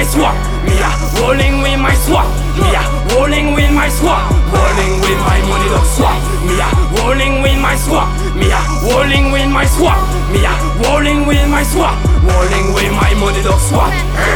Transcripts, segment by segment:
my swap. Me a rolling with my swap. Me a rolling with my swap. Rolling with my money dog swap. Me a rolling with my swap. Me a rolling with my swap. Me a rolling with my swap. Rolling with my money dog swap.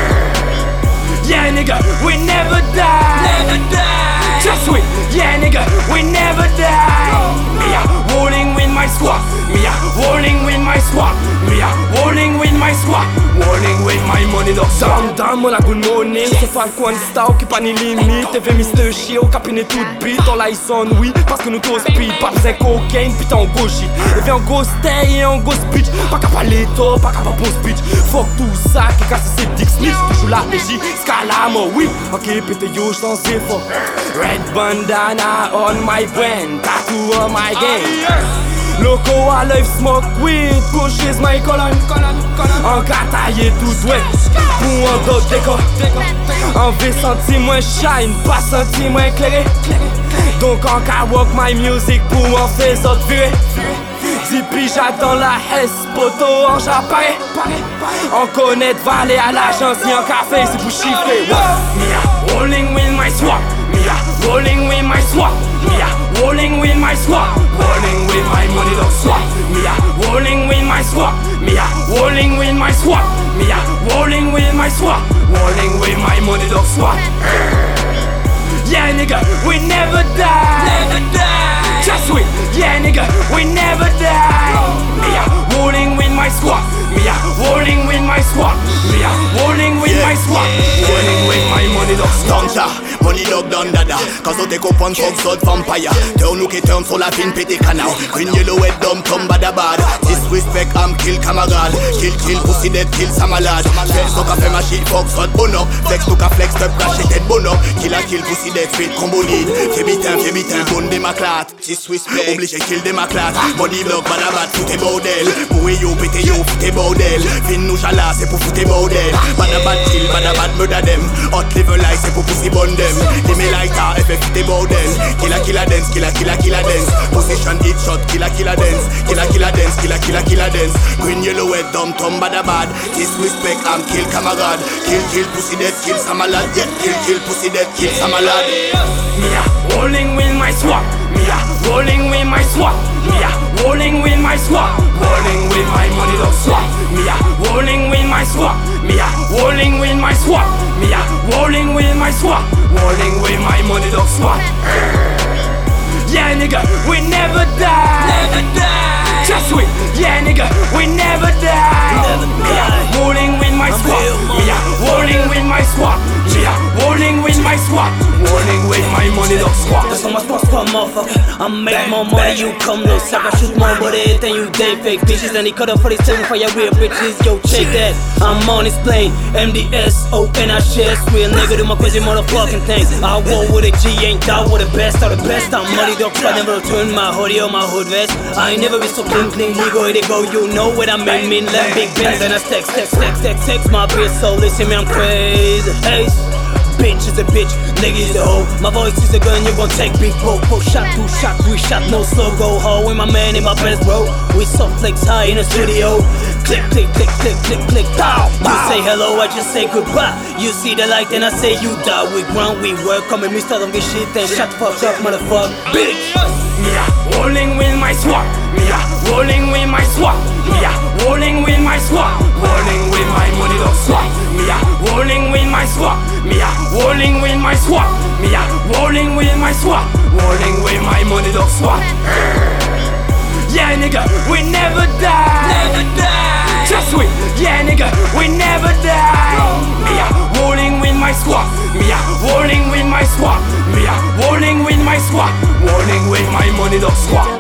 Yeah nigga, we never die. Never die. Just wait. Yeah nigga, we never die. Me a rolling with my swap. Me a rolling with my swap. Me a rolling with my swap. Rolling with my money dog swap. Dam la good morning. Se fa coin star qui pas ni limite. Te fait Mr. Shio capine toute beat. On la son oui parce que nous tous speed. Pas besoin cocaine putain en gros shit. Et viens en gros stay et en gros speech. Pas qu'à parler top, pas qu'à pas bon speech. Fuck tout ça qui casse c'est Dick Smith. Joue la PJ, Scalamo oui. Ok pété yo j't'en sais fort. Red bandana on my brain. Tattoo on my game. Loco I love smoke weed. Pushes my colon. En gataille tout doué. Pour un d'autre décor. En V senti moins shine. Pas senti moins éclairé. Donc en cas walk my music. Pour en faire autres virer. Zippy j'attends la S. Poto en j'apparais. On connaît de valer à l'agence. Ni en café c'est pour chiffrer. Me a rolling with my swap. Me a rolling with my swap. Me a rolling with my swap. Rolling with my money dog swap. Me a rolling with my swap. Me a rolling with my swap. Me a rolling with my swap. Rolling with my money dog swap. Yeah nigga, we never die. Never die. Just wait. Yeah nigga, we never die. Me a rolling with my swap. Me a rolling with my swap. Me a rolling with my swap. Rolling with my money dog swap. Money dog down dada. Cause on te comprend fuck sort vampire. Turn ou qui turn sur la fin pété canal. Green yellow head dumb tom bad bad. Disrespect I'm kill camarade. Kill pussy dead kill sa malade. Flex so ka fait ma shit fuck sort bono. Flex to ka flex top caché tête bono. Kill pussy dead fit combo lead. Fais bitin bonne des maclates. Disrespect obligé kill des maclates. Body block bad bad foute bordel. Pour yo pété yo foute bordel. Fin nous chala c'est pour foute bordel. Bad kill bad murder them. Hot level life c'est pour pussy bonne them. Give me lighter, FF the bordel. Killer dance, killer dance. Position hit shot, killer dance. Killer dance. Green yellow head, dumb tom bad. Disrespect, I'm kill camarade. Kill pussy dead, kill some malad. Yeah, kill pussy dead, kill some malad. Me a rolling with my swap. Me a rolling with my swap. Me a rolling with my swap. Rolling with my money dog swap. Me a rolling with my swap. Me a rolling with my swap. Me a rolling with my swap. Rolling with my money dog swap. Yeah nigga, we never die. Never die. Just wait. Yeah nigga, we never die. Me a rolling with my swap. Me a rolling with my swap. Me a rolling with my swap. Rolling with my money dog swap. That's how much more squad motherfucker. I make more money, you come no suck. I shoot more body than you day fake bitches. And he cut up for these seven for your real bitches. Yo, check that. I'm on his plane. MDS, ONHS. Real nigga do my crazy motherfucking things. I war with a G, ain't doubt with the best. All the best. I'm money dog squad. Never turn my hoodie or my hood vest. I ain't never been so clean. Legal, they go. You know what I mean. Let big bins and I text. My bitch, so listen me, I'm crazy. Hey. Bitch is a bitch, nigga is a hoe. My voice is a gun, you gon' take big poke. Shot, 2 shot, 3 shot, no slow go ho. With my man in my best bro. We soft flex high in the studio. Click, pow. You say hello, I just say goodbye. You see the light, then I say you die. We ground, we work, come and me start on get shit. Then shut the fuck up, motherfucker, bitch. Me a rolling with my swap. Me a rolling with my swap. Me a rolling with my swap. Rolling with my money dog swap. Me a rolling with my swap. Me a rolling with my swap. Me a rolling with my swap. Rolling with my money dog swap. Yeah nigga, we never die. Never die. Just wait. Yeah nigga, we never die. Me a rolling with my swap. Me a rolling with my swap. Me a rolling with my swap. Rolling with my money dog swap.